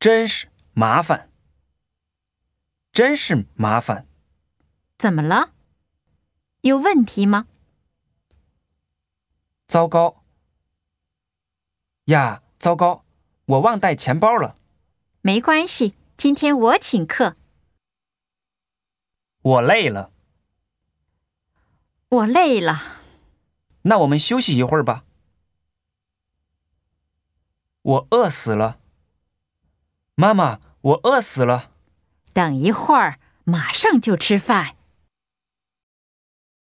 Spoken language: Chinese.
真是麻烦，真是麻烦。 怎么了？有问题吗？ 糟糕呀，糟糕，我忘带钱包了。 没关系，今天我请客。 我累了。 我累了。 那我们休息一会儿吧。我饿死了。妈妈，我饿死了。 等一会儿，马上就吃饭。